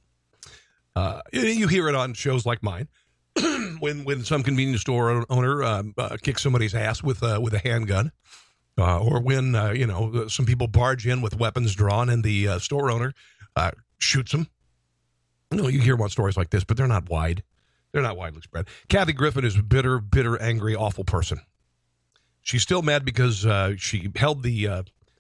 You hear it on shows like mine when some convenience store owner kicks somebody's ass with a handgun, or when some people barge in with weapons drawn and the store owner shoots them. No, you hear about stories like this, but they're not wide. They're not widely spread. Kathy Griffin is a bitter, angry, awful person. She's still mad because she held the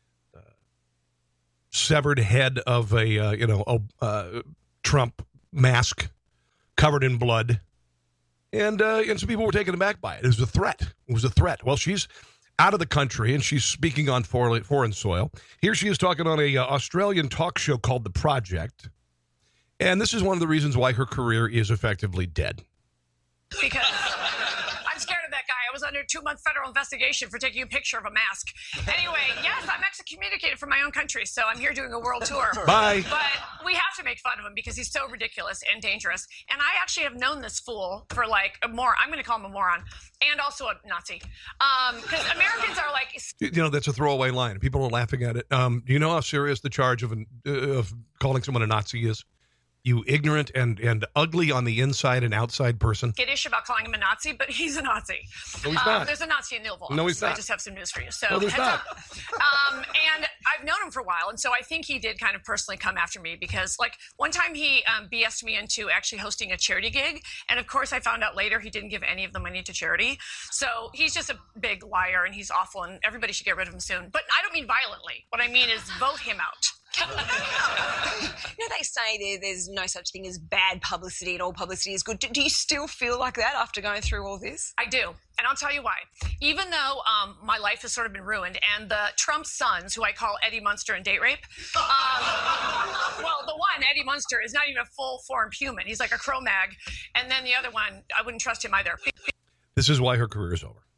severed head of a Trump mask covered in blood, and some people were taken aback by it. It was a threat. It was a threat. Well, she's out of the country, and she's speaking on foreign soil. Here she is talking on a Australian talk show called The Project. And this is one of the reasons why her career is effectively dead. Because I'm scared of that guy. I was under a 2-month federal investigation for taking a picture of a mask. Anyway, yes, I'm excommunicated from my own country, so I'm here doing a world tour. Bye. But we have to make fun of him because he's so ridiculous and dangerous. And I actually have known this fool for like I'm going to call him a moron, and also a Nazi. Because Americans are like... that's a throwaway line. People are laughing at it. Do you know how serious the charge of calling someone a Nazi is? You ignorant and ugly on the inside and outside person. Skittish about calling him a Nazi, but he's a Nazi. No, he's not. There's a Nazi in Louisville. No, he's not. I just have some news for you. So no, there's not. And I've known him for a while, and so I think he did kind of personally come after me because, like, one time he BS'd me into actually hosting a charity gig, and of course I found out later he didn't give any of the money to charity. So he's just a big liar, and he's awful, and everybody should get rid of him soon. But I don't mean violently. What I mean is vote him out. They say there's no such thing as bad publicity and all publicity is good. Do you still feel like that after going through all this? I do. And I'll tell you why. Even though my life has sort of been ruined, and the Trump sons, who I call Eddie Munster and date rape, well, the one, Eddie Munster, is not even a full-formed human. He's like a Cro-Mag. And then the other one, I wouldn't trust him either. This is why her career is over.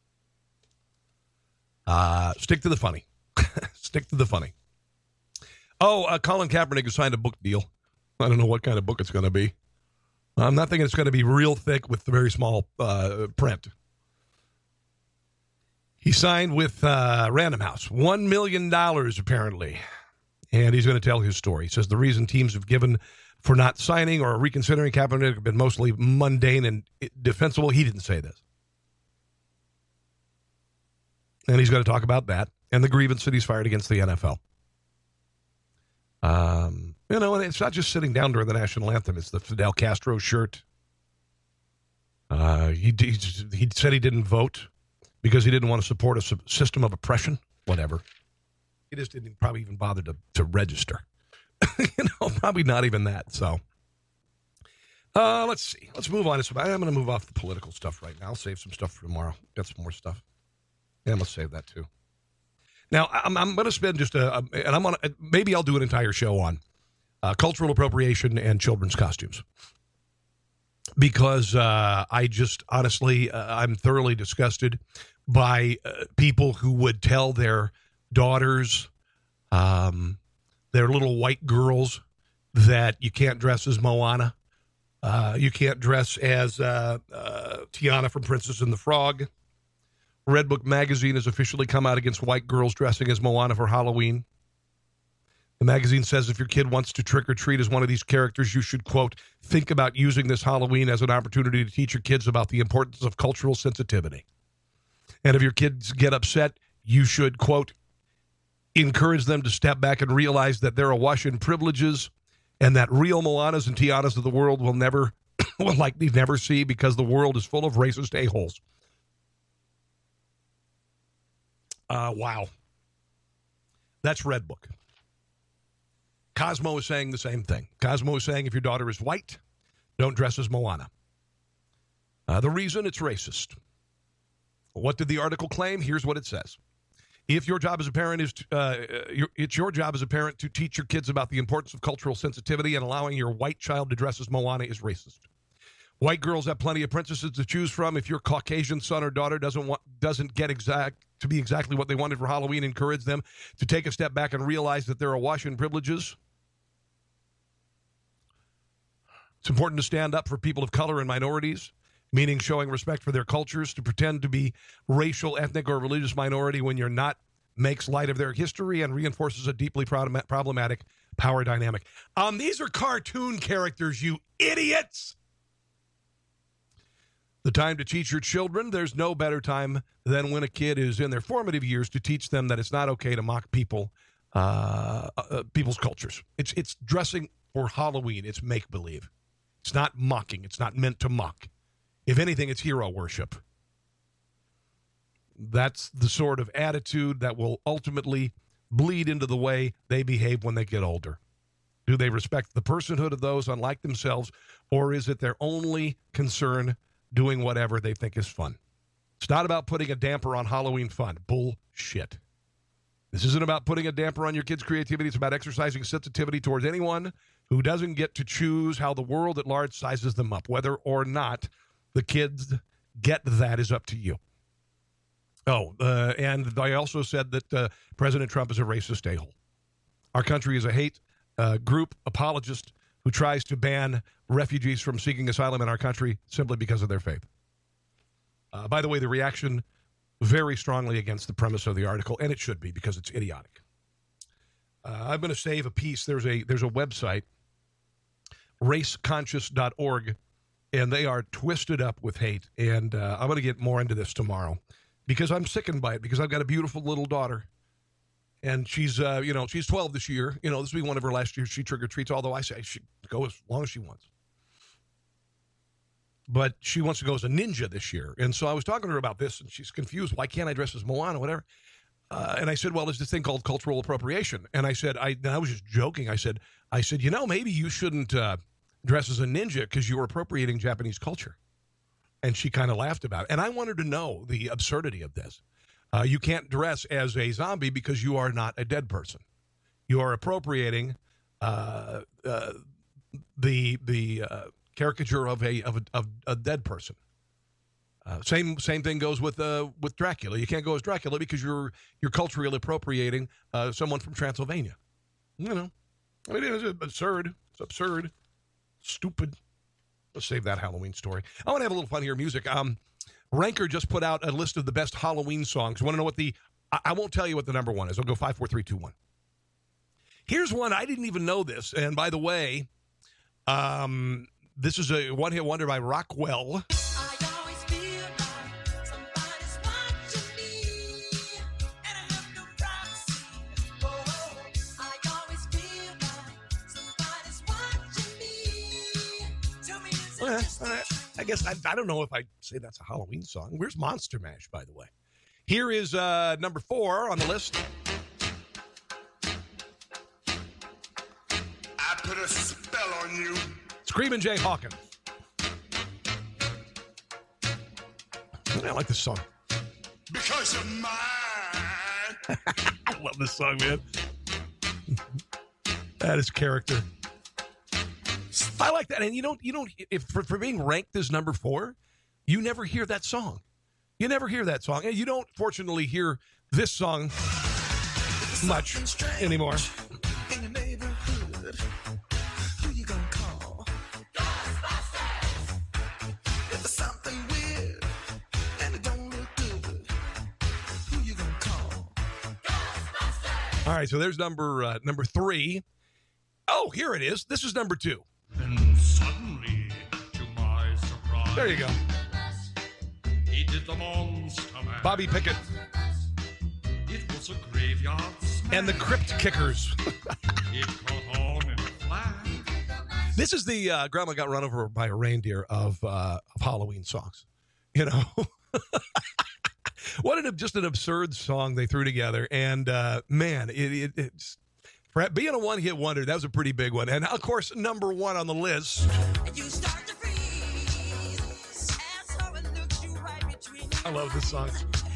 Stick to the funny. Stick to the funny. Oh, Colin Kaepernick has signed a book deal. I don't know what kind of book it's going to be. I'm not thinking it's going to be real thick with very small print. He signed with Random House, $1 million apparently. And he's going to tell his story. He says the reason teams have given for not signing or reconsidering Kaepernick have been mostly mundane and defensible. He didn't say this. And he's going to talk about that and the grievance that he's fired against the NFL. And it's not just sitting down during the national anthem. It's the Fidel Castro shirt. He said he didn't vote because he didn't want to support a system of oppression. Whatever. He just didn't probably even bother to register. Probably not even that. So, let's see. Let's move on. I'm going to move off the political stuff right now. I'll save some stuff for tomorrow. Got some more stuff. And let's save that too. Now, I'm going to spend maybe I'll do an entire show on cultural appropriation and children's costumes. Because I just, honestly, I'm thoroughly disgusted by people who would tell their daughters, their little white girls, that you can't dress as Moana. You can't dress as Tiana from Princess and the Frog. Redbook magazine has officially come out against white girls dressing as Moana for Halloween. The magazine says if your kid wants to trick or treat as one of these characters, you should, quote, think about using this Halloween as an opportunity to teach your kids about the importance of cultural sensitivity. And if your kids get upset, you should, quote, encourage them to step back and realize that they're awash in privileges and that real Moanas and Tianas of the world will likely never see because the world is full of racist a-holes. Wow. That's Redbook. Cosmo is saying the same thing. Cosmo is saying if your daughter is white, don't dress as Moana. The reason, it's racist. What did the article claim? Here's what it says. If your job as a parent is, it's your job as a parent to teach your kids about the importance of cultural sensitivity, and allowing your white child to dress as Moana is racist. White girls have plenty of princesses to choose from. If your Caucasian son or daughter doesn't get to be exactly what they wanted for Halloween, encourage them to take a step back and realize that they're awash in privileges. It's important to stand up for people of color and minorities, meaning showing respect for their cultures. To pretend to be racial, ethnic, or religious minority when you're not makes light of their history and reinforces a deeply problematic power dynamic. These are cartoon characters, you idiots! The time to teach your children, there's no better time than when a kid is in their formative years to teach them that it's not okay to mock people's cultures. It's dressing for Halloween. It's make-believe. It's not mocking. It's not meant to mock. If anything, it's hero worship. That's the sort of attitude that will ultimately bleed into the way they behave when they get older. Do they respect the personhood of those unlike themselves, or is it their only concern doing whatever they think is fun? It's not about putting a damper on Halloween fun. Bullshit. This isn't about putting a damper on your kids' creativity. It's about exercising sensitivity towards anyone who doesn't get to choose how the world at large sizes them up. Whether or not the kids get that is up to you. And they also said that President Trump is a racist a-hole. Our country is a hate group apologist who tries to ban refugees from seeking asylum in our country simply because of their faith. By the way, the reaction very strongly against the premise of the article, and it should be because it's idiotic. I'm going to save a piece. There's a website, raceconscious.org, and they are twisted up with hate. And I'm going to get more into this tomorrow because I'm sickened by it, because I've got a beautiful little daughter. And she's 12 this year. This will be one of her last years she trick-or-treats, although I say she go as long as she wants. But she wants to go as a ninja this year. And so I was talking to her about this, and she's confused. Why can't I dress as Moana, whatever? And I said, well, there's this thing called cultural appropriation. And I said, I was just joking. I said, maybe you shouldn't dress as a ninja because you're appropriating Japanese culture. And she kind of laughed about it. And I wanted to know the absurdity of this. You can't dress as a zombie because you are not a dead person. You are appropriating the caricature of a dead person. Same thing goes with Dracula. You can't go as Dracula because you're culturally appropriating someone from Transylvania. You know, I mean, it's absurd. It's absurd. Stupid. Let's save that Halloween story. I want to have a little fun here. Music. Ranker just put out a list of the best Halloween songs. Want to know what I won't tell you what the number one is. I'll go 5, 4, 3, 2, 1. Here's one. I didn't even know this. And by the way, this is a one-hit wonder by Rockwell. I guess I don't know if I'd say that's a Halloween song. Where's Monster Mash, by the way? Here is number 4 on the list. I put a spell on you. Screamin' Jay Hawkins. I like this song. Because you're mine. I love this song, man. That is character. I like that. And you don't if for being ranked as number 4, you never hear that song. You never hear that song. And you don't, fortunately, hear this song much anymore. In your neighborhood, who you gonna call? Ghostbusters! If there's something weird and it don't look good, who you gonna call? Ghostbusters! All right, so there's number 3. Oh, here it is. This is number 2. And suddenly, to my surprise, there you go. He did the Monster Mash. Bobby Pickett. It was a graveyard smash. And the Crypt Kickers. It caught on in a flash. This is the Grandma Got Run Over by a Reindeer of Halloween songs. You know? What just an absurd song they threw together. And, man, it's... being a one-hit wonder, that was a pretty big one. And, of course, number 1 on the list. I love this song.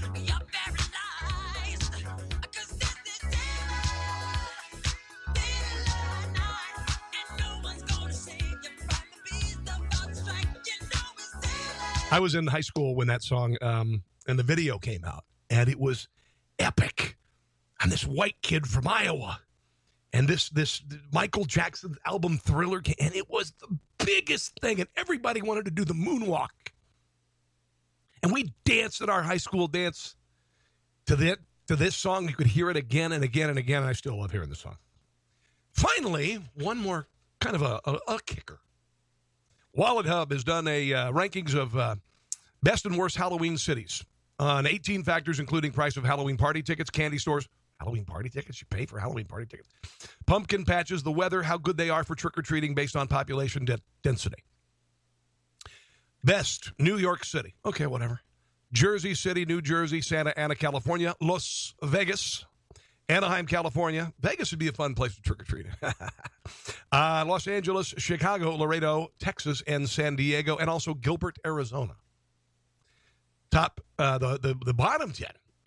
I was in high school when that song and the video came out, and it was epic. I'm this white kid from Iowa. And this Michael Jackson album Thriller came, and it was the biggest thing, and everybody wanted to do the moonwalk. And we danced at our high school dance to this song. You could hear it again and again and again, and I still love hearing the song. Finally, one more kind of a kicker. Wallet Hub has done a rankings of best and worst Halloween cities on 18 factors, including price of Halloween party tickets, candy stores. Halloween party tickets? You pay for Halloween party tickets. Pumpkin patches, the weather, how good they are for trick-or-treating based on population density. Best, New York City. Okay, whatever. Jersey City, New Jersey, Santa Ana, California. Las Vegas, Anaheim, California. Vegas would be a fun place to trick-or-treat. Los Angeles, Chicago, Laredo, Texas, and San Diego, and also Gilbert, Arizona. Top, the bottom 10.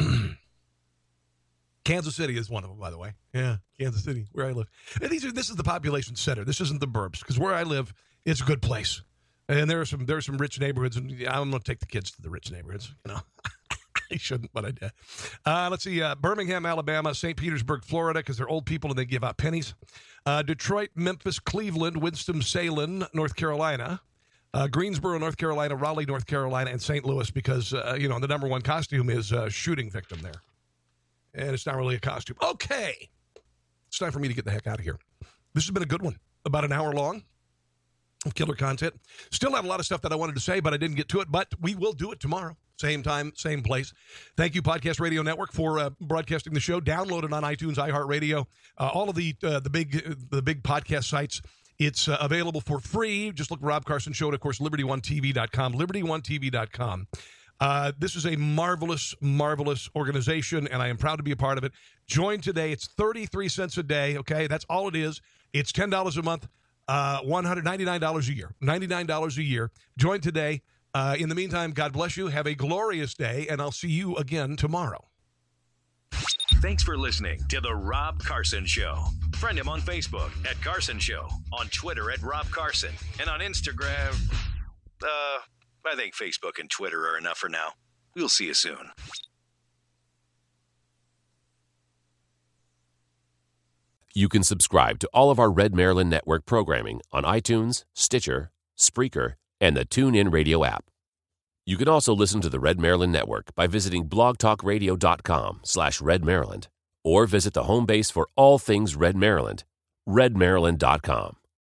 Kansas City is one of them, by the way. Yeah, Kansas City, where I live. And this is the population center. This isn't the burbs, because where I live, it's a good place. And there are some rich neighborhoods, and I'm going to take the kids to the rich neighborhoods. You know, I shouldn't, but I did. Let's see, Birmingham, Alabama, St. Petersburg, Florida, because they're old people and they give out pennies. Detroit, Memphis, Cleveland, Winston-Salem, North Carolina. Greensboro, North Carolina, Raleigh, North Carolina, and St. Louis, because, the number one costume is a shooting victim there. And it's not really a costume. Okay. It's time for me to get the heck out of here. This has been a good one. About an hour long of killer content. Still have a lot of stuff that I wanted to say, but I didn't get to it. But we will do it tomorrow. Same time, same place. Thank you, Podcast Radio Network, for broadcasting the show. Download it on iTunes, iHeartRadio, all of the big podcast sites. It's available for free. Just look Rob Carson Show, and, of course, LibertyOneTV.com. LibertyOneTV.com. This is a marvelous, marvelous organization, and I am proud to be a part of it. Join today. It's 33 cents a day, okay? That's all it is. It's $10 a month, $199 a year. $99 a year. Join today. In the meantime, God bless you. Have a glorious day, and I'll see you again tomorrow. Thanks for listening to The Rob Carson Show. Friend him on Facebook at Carson Show, on Twitter at Rob Carson, and on Instagram, I think Facebook and Twitter are enough for now. We'll see you soon. You can subscribe to all of our Red Maryland Network programming on iTunes, Stitcher, Spreaker, and the TuneIn Radio app. You can also listen to the Red Maryland Network by visiting blogtalkradio.com/Red Maryland or visit the home base for all things Red Maryland, redmaryland.com.